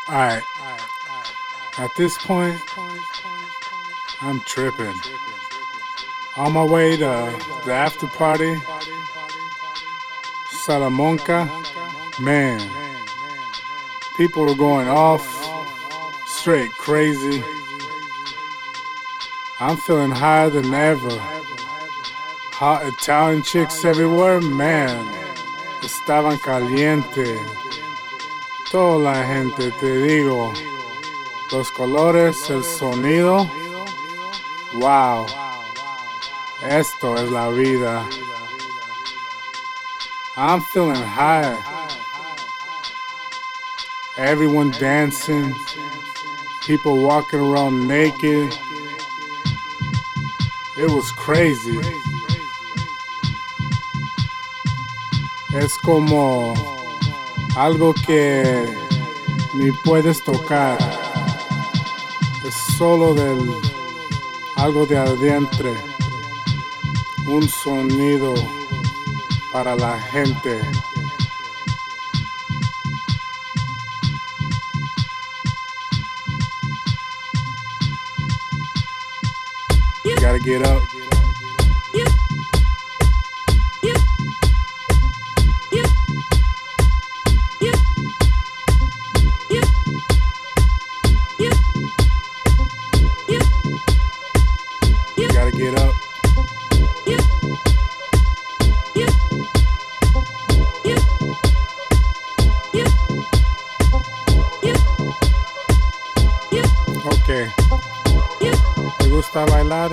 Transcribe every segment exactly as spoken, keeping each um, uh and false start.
Alright, at this point, I'm tripping. On my way to the after party, Salamanca, man, people are going off, straight crazy. I'm feeling higher than ever. Hot Italian chicks everywhere, man, estaban caliente. Toda la gente, te digo, los colores, el sonido, wow, esto es la vida. I'm feeling high. Everyone dancing, people walking around naked. It was crazy. Es como algo que ni puedes tocar. Es solo del algo de adentro. Un sonido para la gente. You gotta get up. Get up. Okay. ¿Te gusta bailar?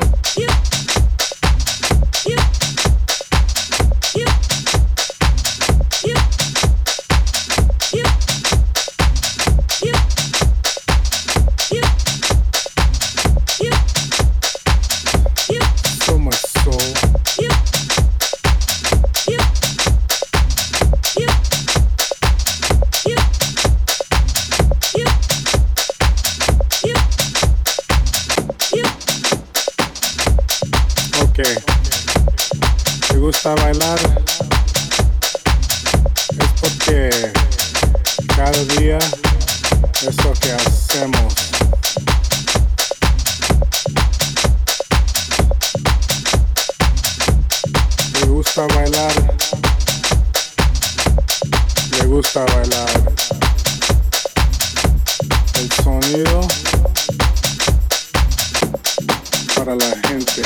Okay. ¿Te gusta bailar? Es porque cada día es lo que hacemos. ¿Te gusta bailar? ¿Le gusta bailar? El sonido para la gente.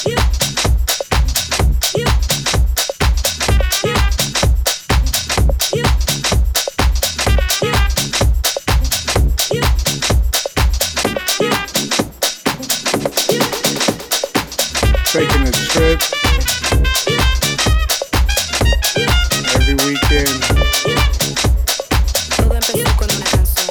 Taking a trip every weekend. Todo empezó con una canción.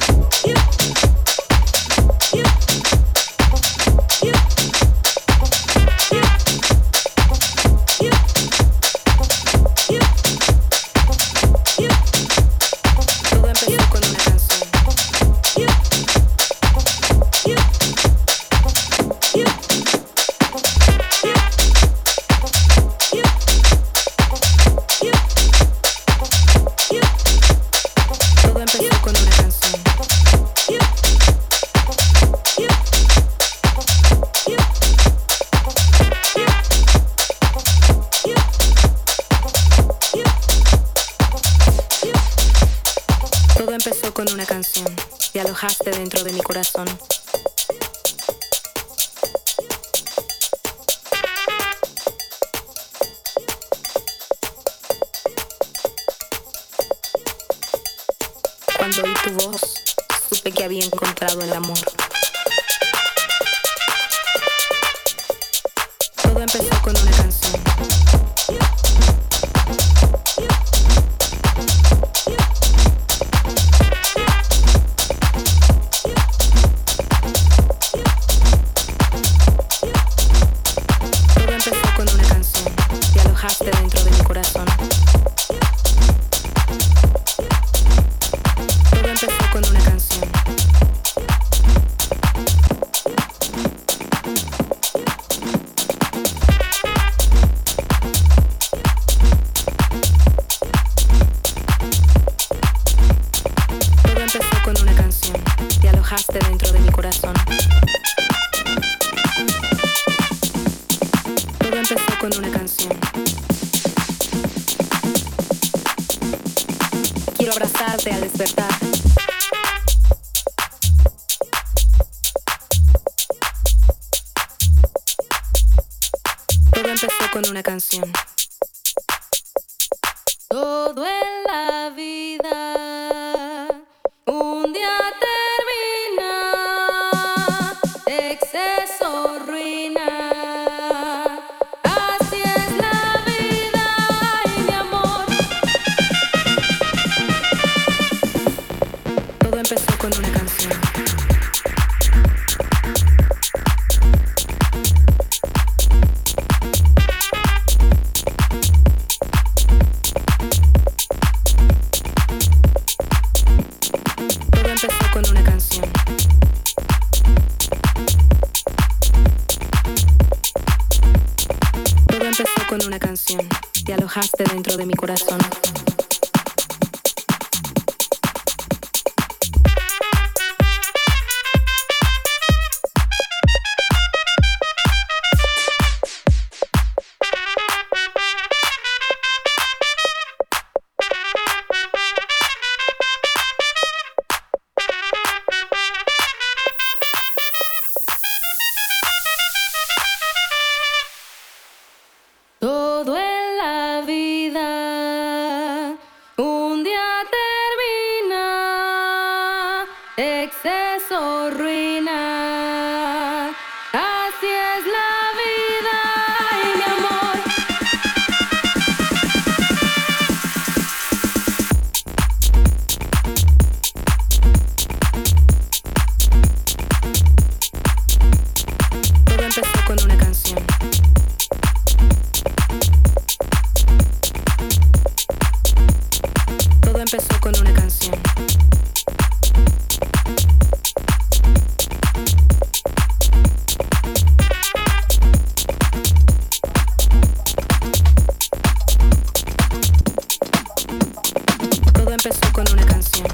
Todo empezó con una canción. Todo empezó con una canción. Todo empezó con una canción. Te alojaste dentro de mi corazón. Cuando oí tu voz, supe que había encontrado el amor. Todo empezó con una canción. Todo empezó con una canción. Te alojaste dentro de mi corazón. Todo empezó con una canción. corazón. Todo empezó con una canción. Quiero abrazarte al despertar. Todo empezó con una canción. Todo en la vida un día termina, exceso, ruina. Así es la vida y mi amor. Todo empezó con una canción. Con una canción, te alojaste dentro de mi corazón. Todo en la vida un día termina, exceso, ruina. Así es la vida y mi amor. Todo empezó con una canción. Todo empezó con una canción. Todo empezó con una canción.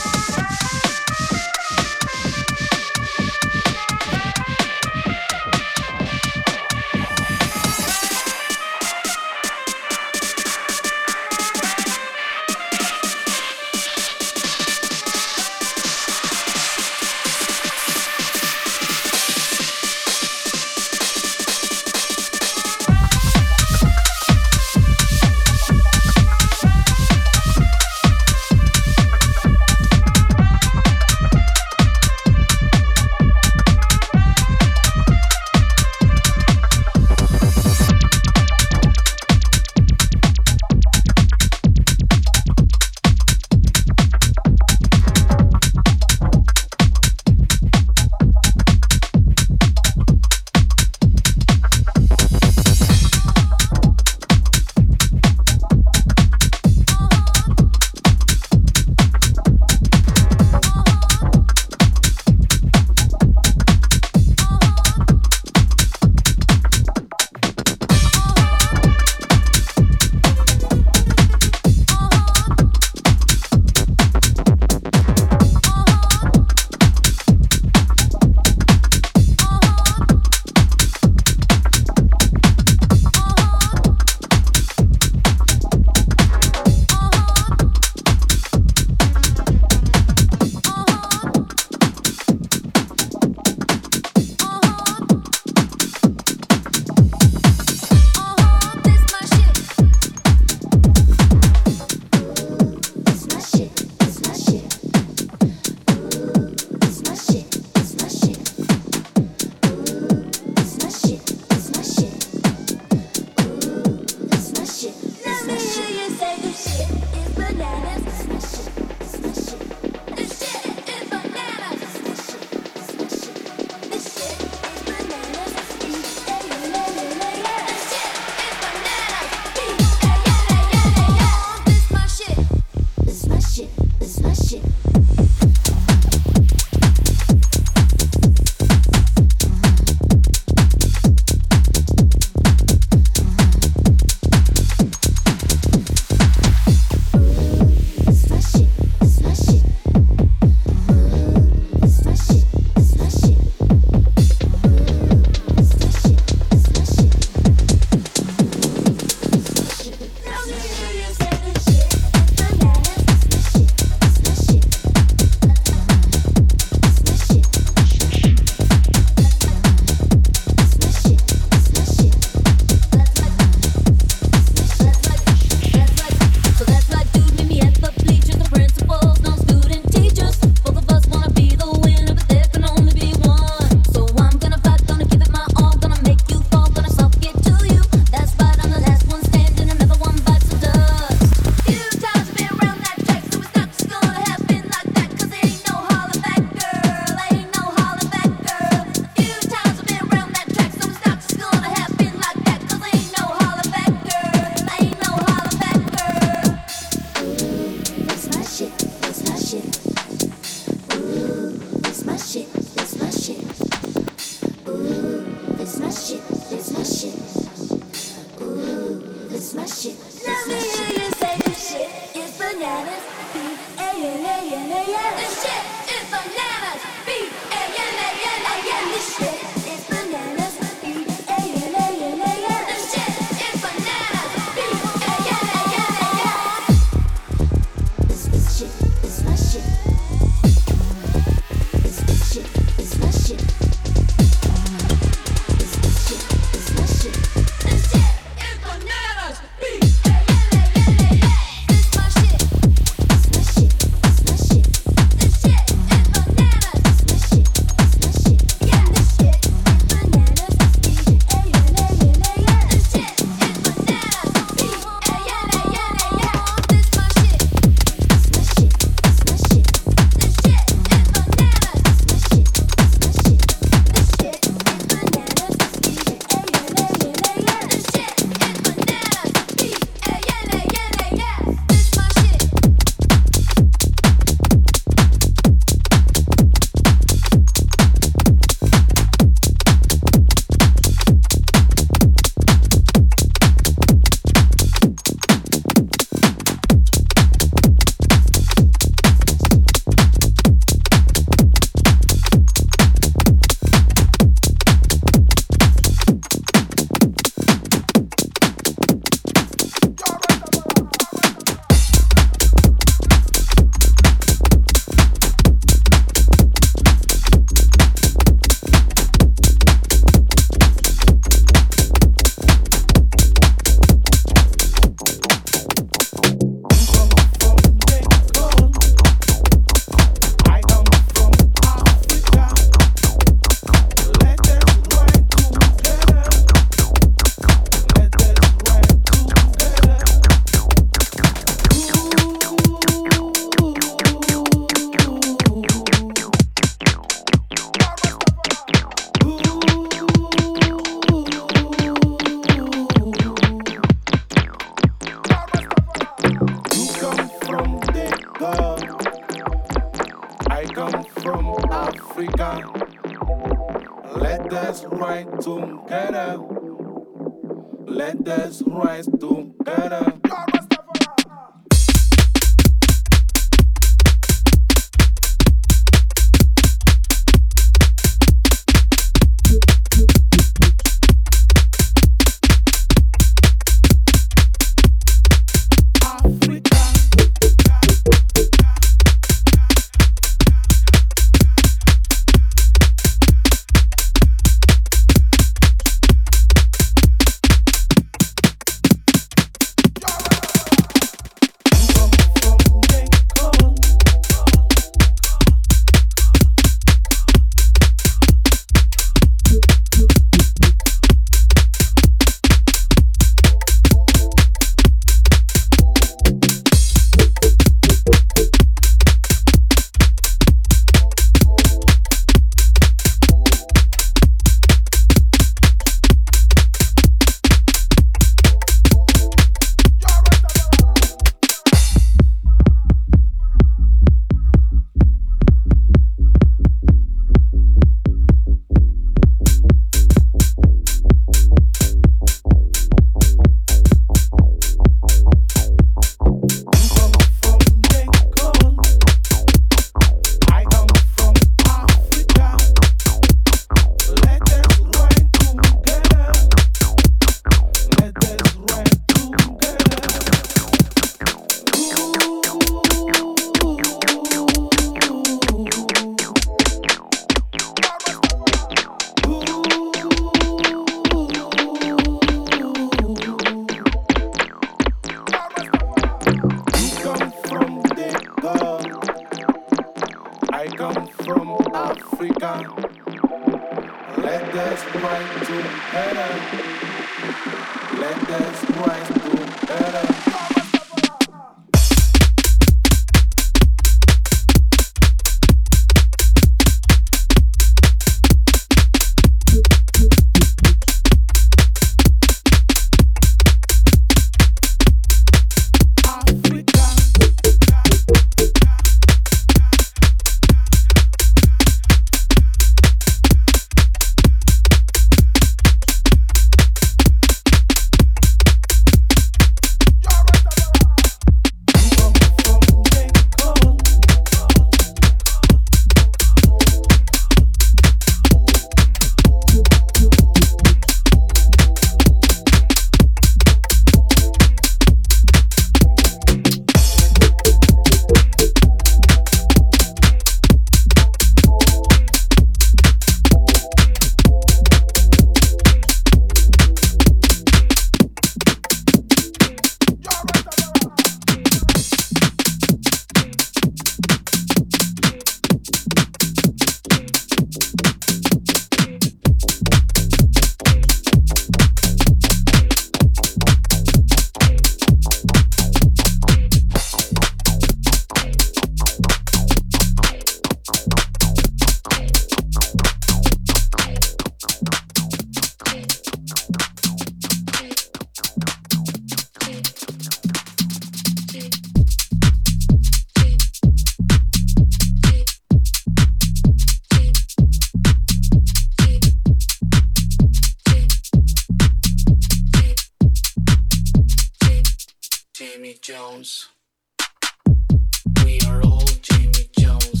Jamie Jones. We are all Jamie Jones.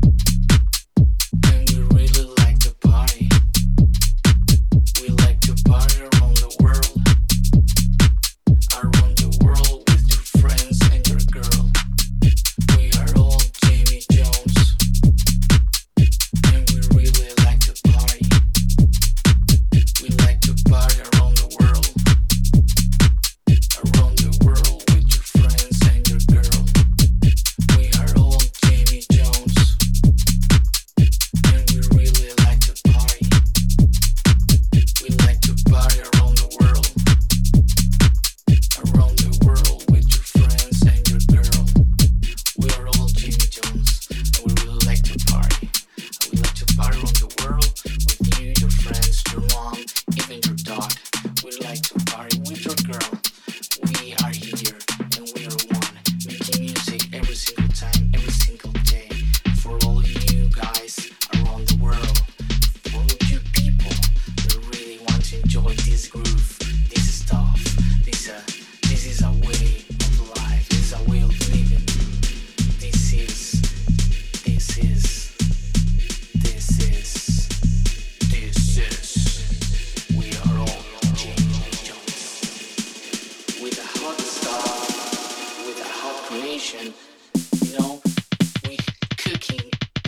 And we really like to party. We like to party around the world. Around the world with your friends and your girl. We are all Jamie Jones. And we really like to party. We like to party around the world. Around the world with your friends and your girl. We are all Jamie Jones. And we really like to party. We like to party around the world. Around the world with your friends and your girl. We are all Jamie Jones. And we really like to party. We like to party around the world with you, your friends, your mom, even your dog. We like to party with your girl. We are here and we are one, making music every single time, every single day. For all you guys around the world, for all you people that really want to enjoy this groove, this stuff, this uh, this is a way of life, this is a way of living. This is, this is, this is, this is. We are all Jamie Jones. With a hot stuff, with a hot creation, you know, we cooking.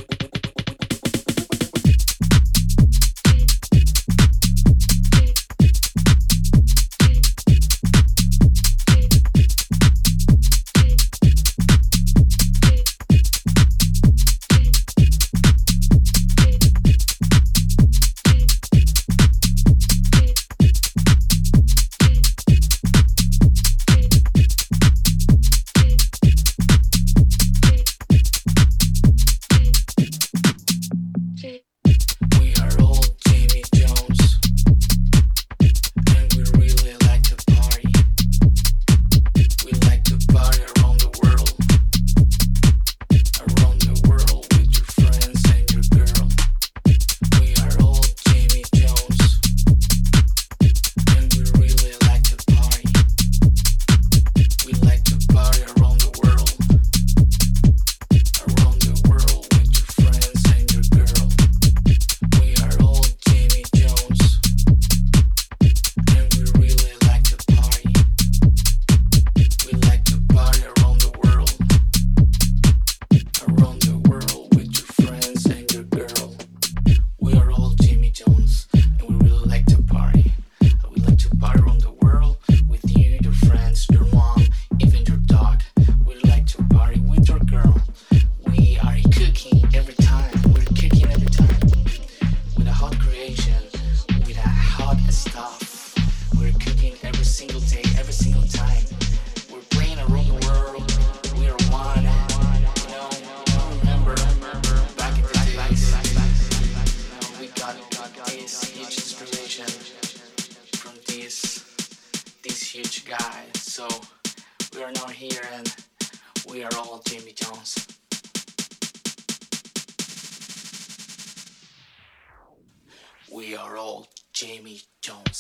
We are all Jamie Jones, and we really like to party. We like to party around the world, around the world with your friends and your girl. We are all Jamie Jones, and we really like to party. We like to party around the world, around the world with your friends and your girl. We are all Jamie Jones, and we really like to party. We like to party around the world, around the world with your friends and your girl. We are all Jamie Jones, and we really like to party. We like to party around the world with you, your friends, your mom, even your dog. We like to party with your girl. We are cooking every time. We're cooking every time. With a hot creation, with a hot stuff. We're cooking every single day, every single time. We're playing around the world. We are one. You know, you remember back in the days, you know, we got this huge inspiration from this this huge guy. So we are now here and we are all Jamie Jones. We are all Jamie Jones.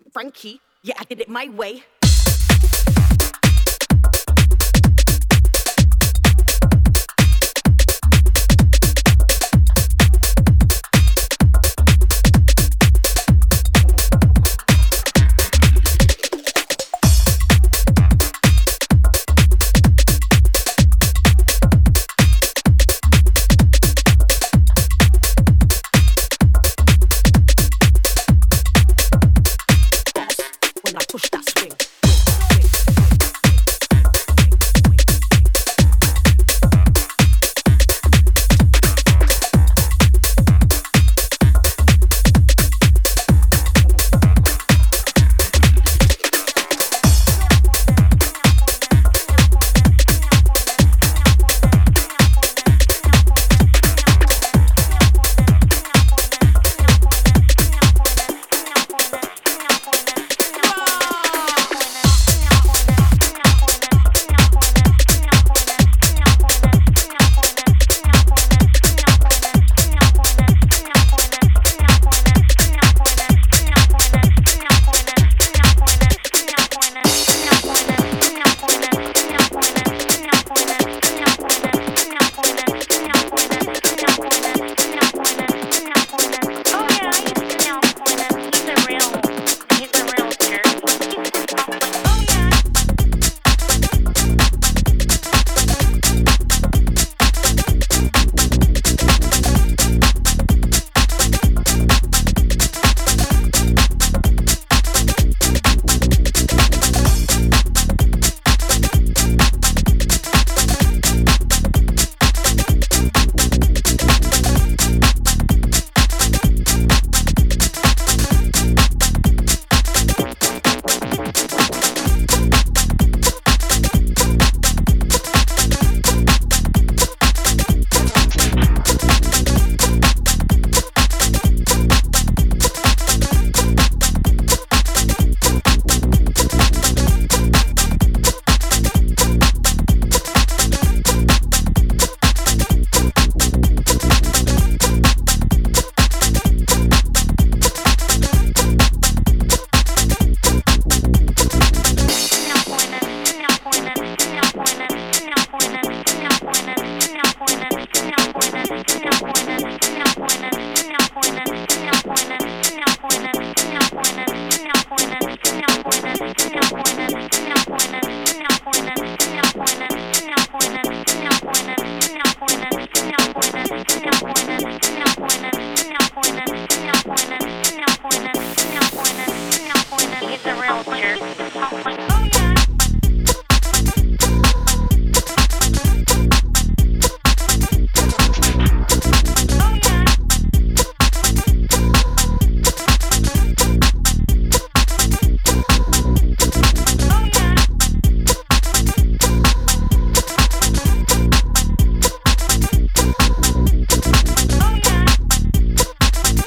Frankie. Yeah, I did it my way.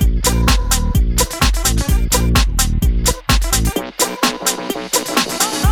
Oh,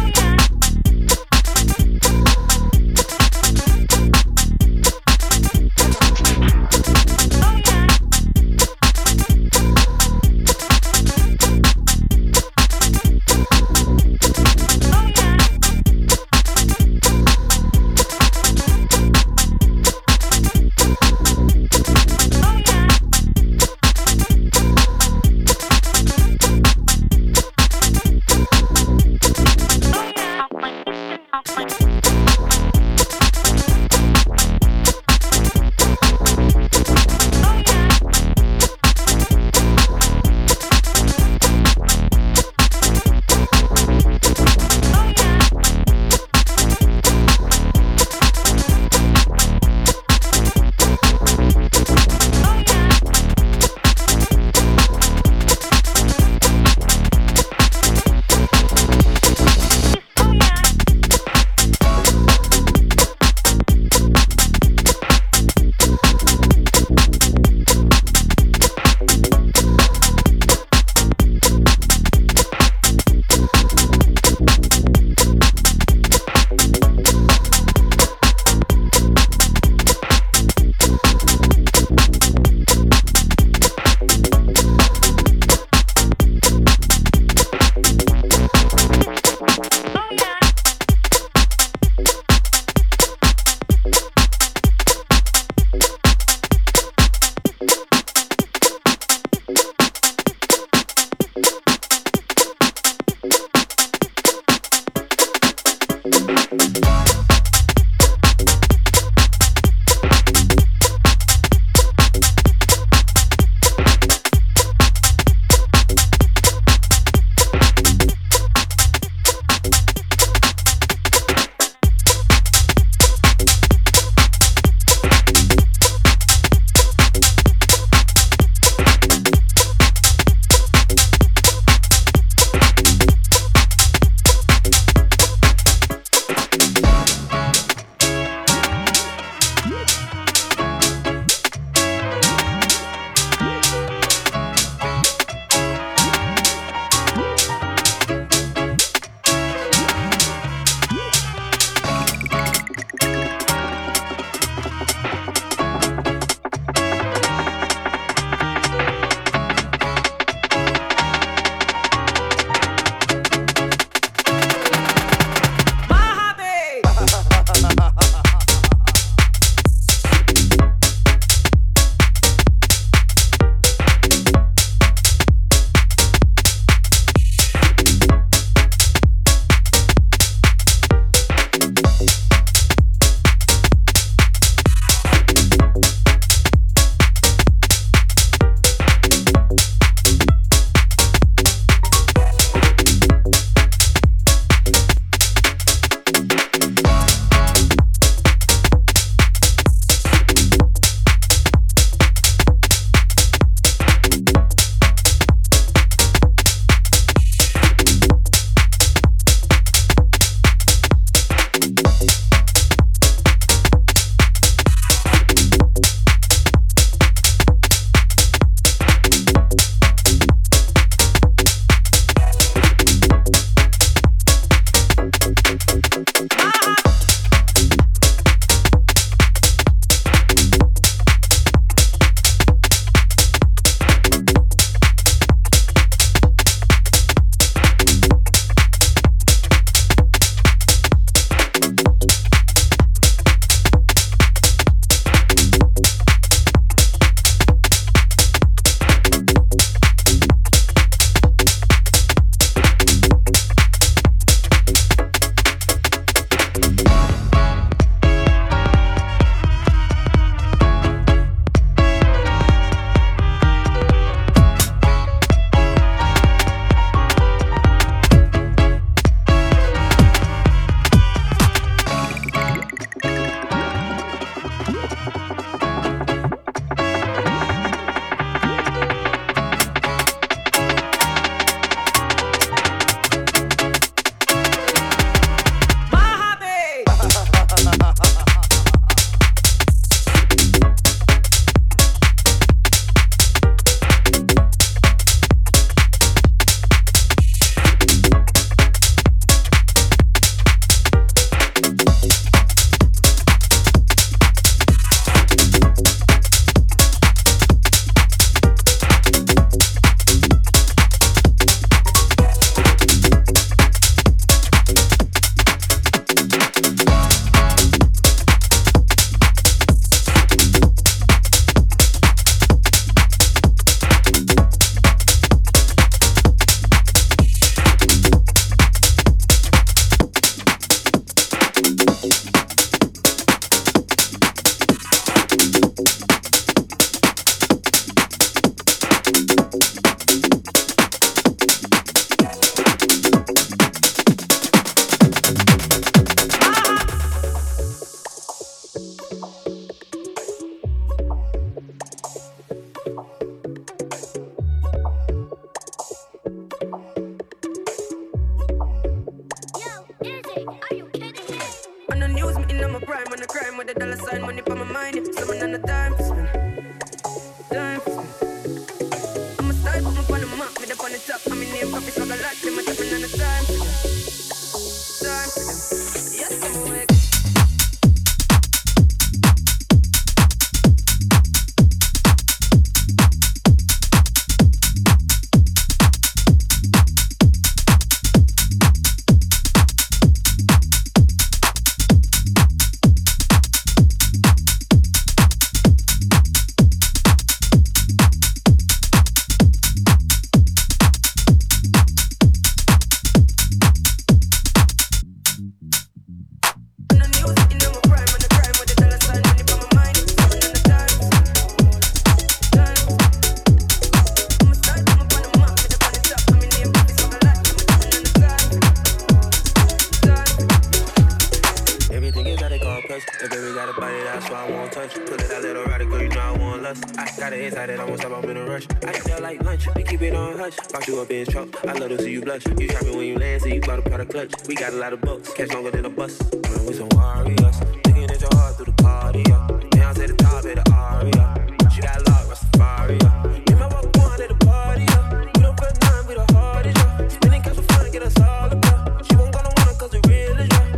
lunch. Pull it out, little rider, girl, you know I want lust. I got it inside it, I won't stop, I'm in a rush. I feel like lunch, we keep it on hush. Box you up in truck, I love to see you blush. You shopping when you land, so you bought a product clutch. We got a lot of bucks, catch longer than a bus. Run with some warriors, looking at your heart through the cardio. Down to the top of the aria. She got locked, Rastafari. Me and my walk one at the party, yeah. We don't put none, we the hardest, yeah. Spinning cash for fun, get us all about. She won't gonna want it, cause the real is right.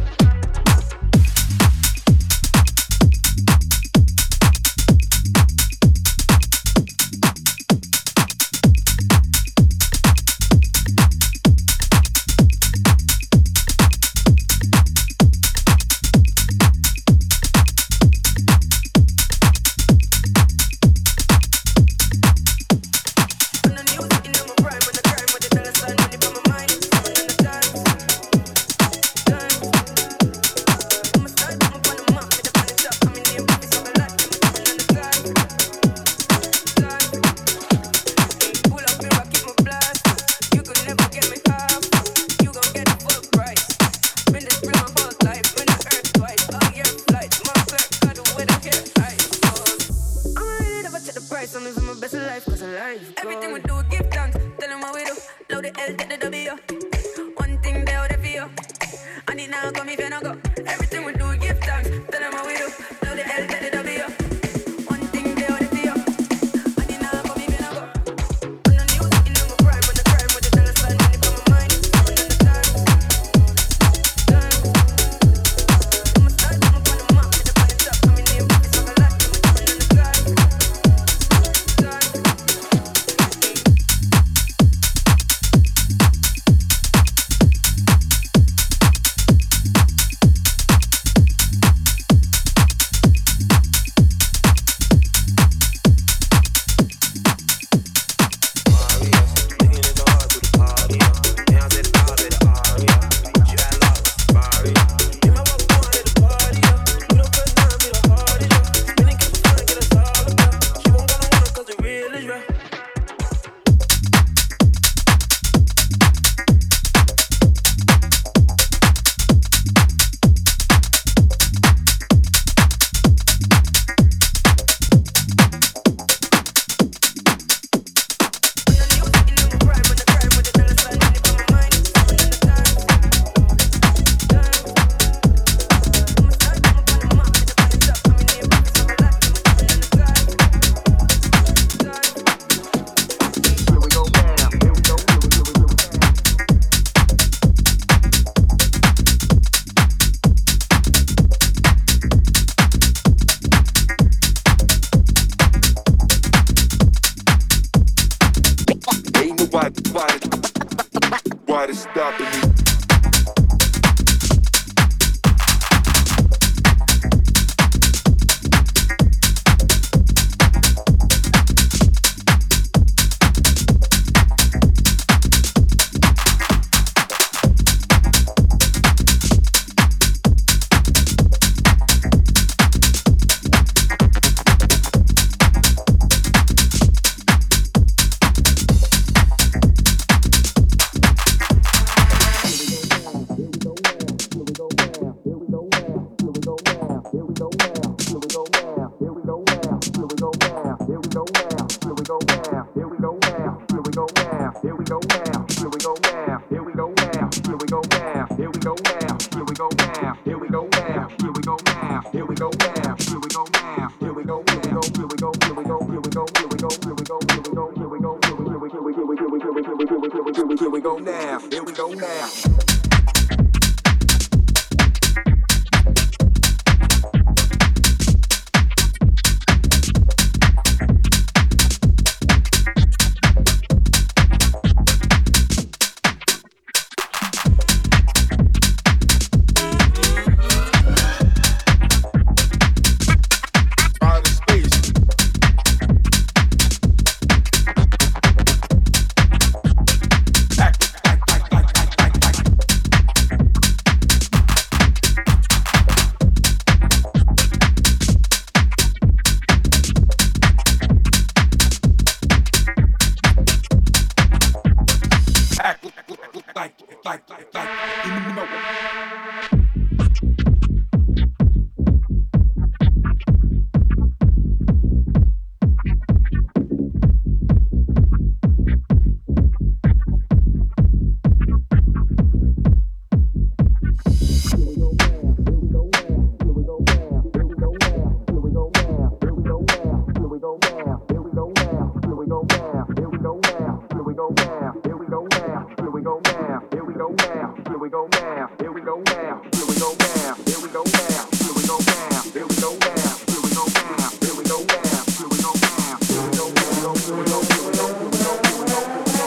now, here we go now, here we go now, here we go now, here we go now, here we go now, here we go now, here we go now, here we go now, here we go now, here we go now, here we go, here we go, here we go, here we go, here we go, here we go,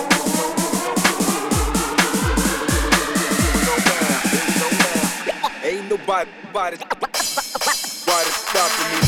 ain't nobody, body, body stopping me.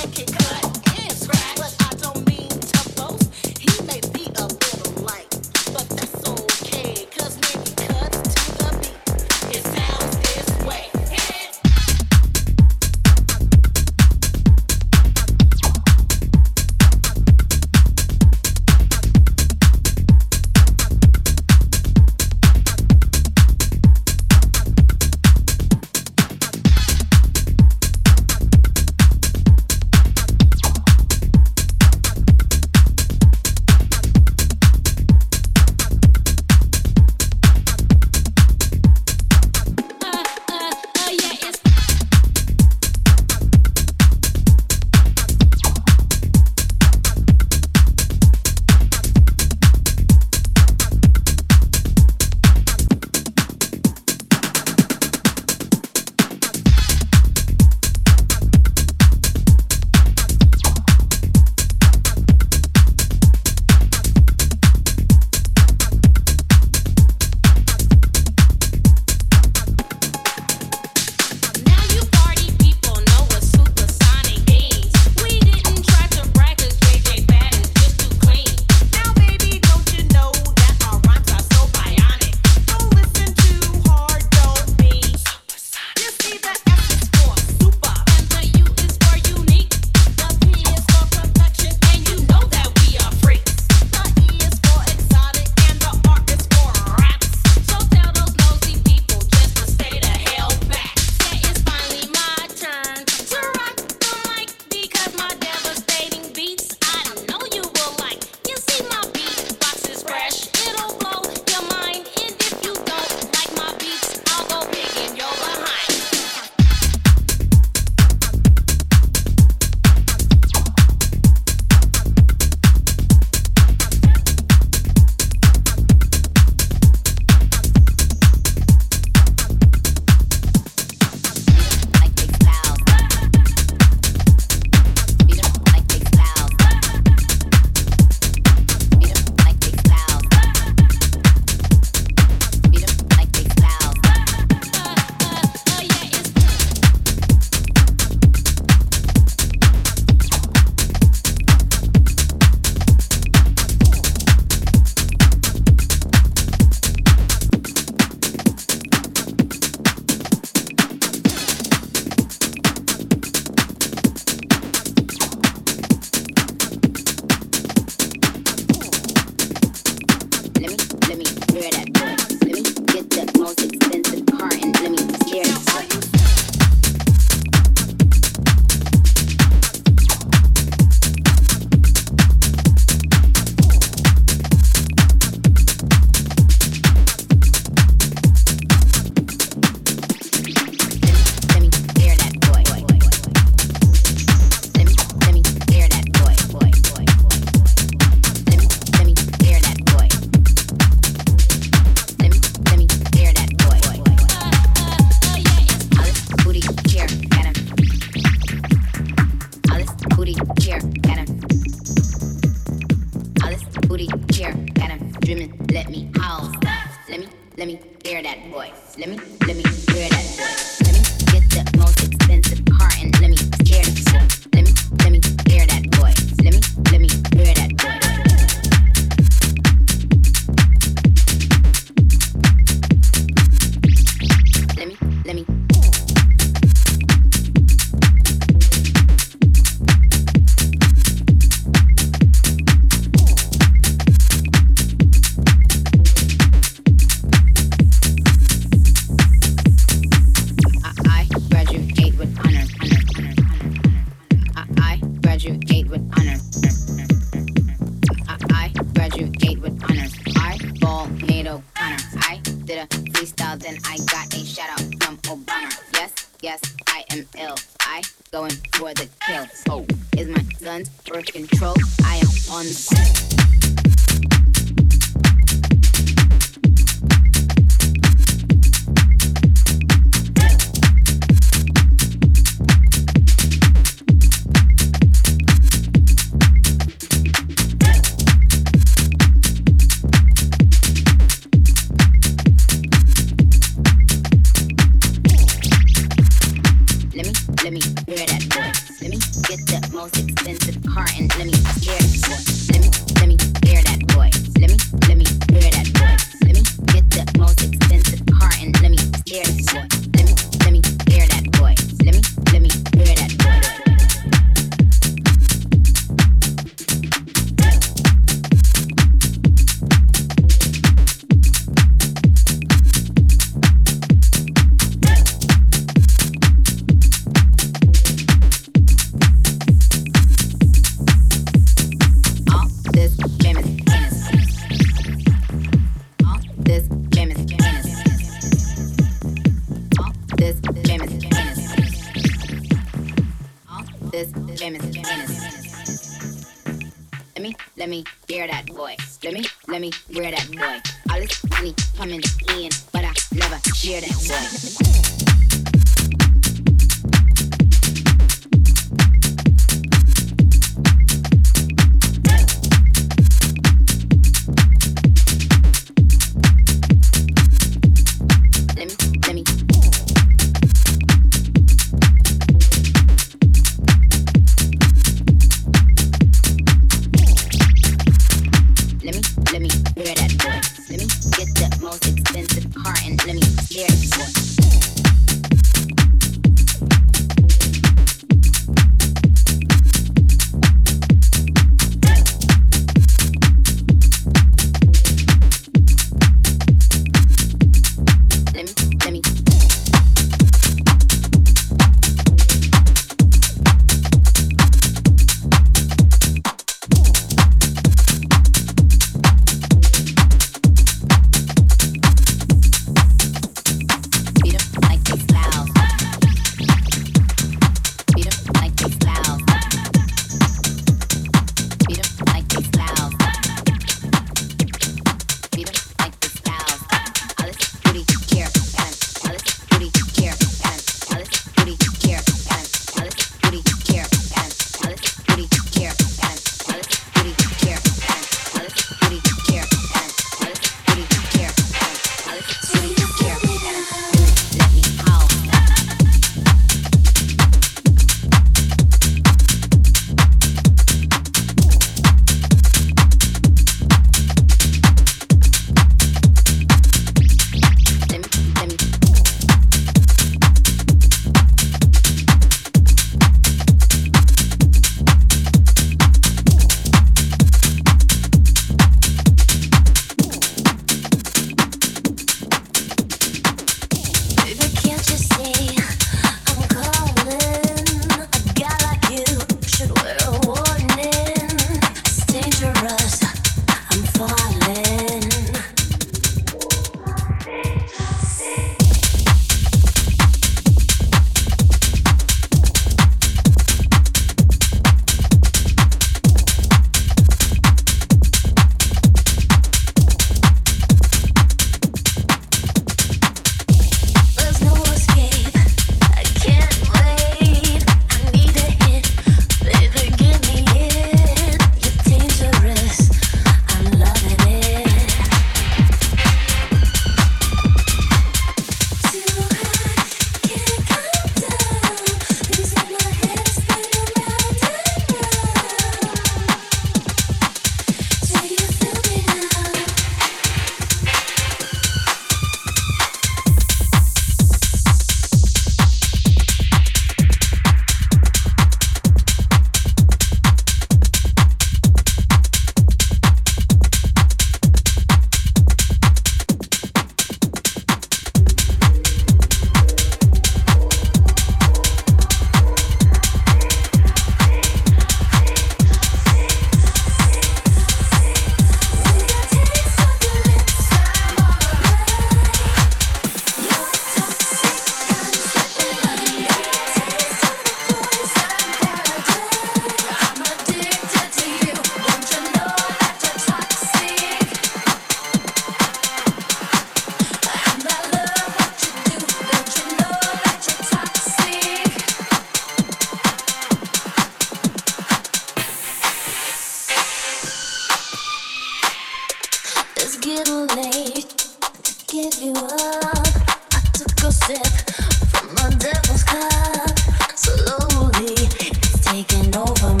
getting late to give you up. I took a sip from my devil's cup. Slowly, it's taking over me.